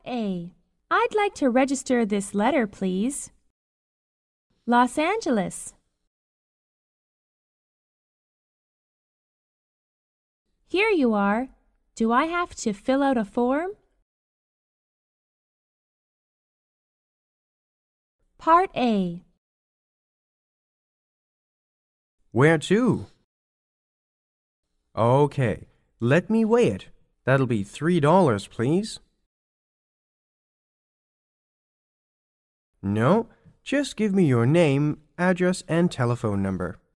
A. I'd like to register this letter, please. Los Angeles. Here you are. Do I have to fill out a form? Part A. Where to? Okay, let me weigh it. That'll be $3, please. No, just give me your name, address, and telephone number.